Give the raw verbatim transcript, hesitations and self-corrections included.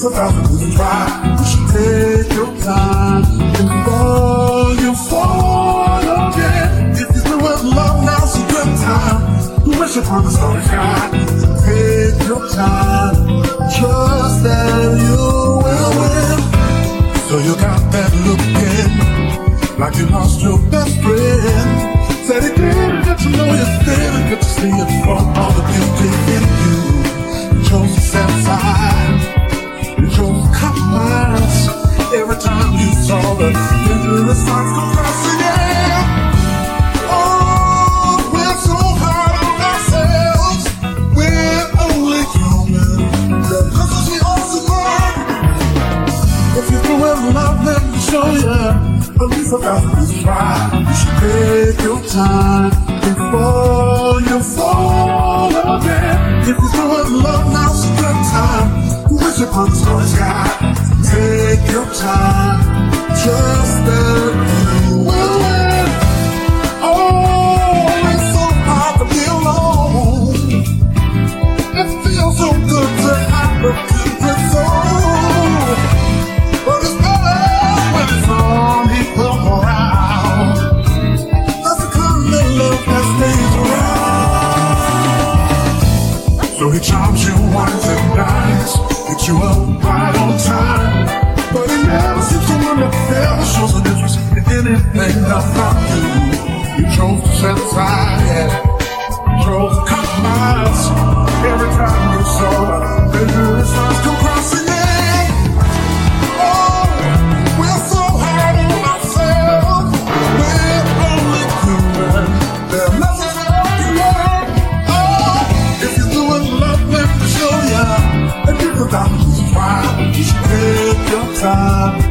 least a thousand reasons why you should take your time before you fall again. If you're through with love, now's a good time. You wish upon the starry sky. Take your time, trust that you will win. So you got that looking like you lost your best friend. Said it didn't get to know you, didn't get to see it for all the beauty in you. You chose to set aside, you chose to compromise. Every time you saw the dangerous signs come crossing, yeah. Oh, we're so hard on ourselves, we're only human. Cause as we all survive, if you're through with love, let me show you. At least a thousand reasons why you should take your time before you fall again. If you're through with love, now's a good time. You wish upon the starry sky. Take your time, trust that you will win. Oh, it's so hard to be alone. It feels so good to have a good soul, but it's better when it's on. So he charms you once and dimes, picks you up right on time. But he never seems to wonder, never shows an interest in anything about you. You chose to set aside, yeah. You chose to compromise. Every time you saw the dangerous lines come crossing in. Oh, we're so hard on ourselves, we're only human. There's nothing else to learn. Oh, if you're doing love, let me show ya. And give a thousand reasons why you should take your time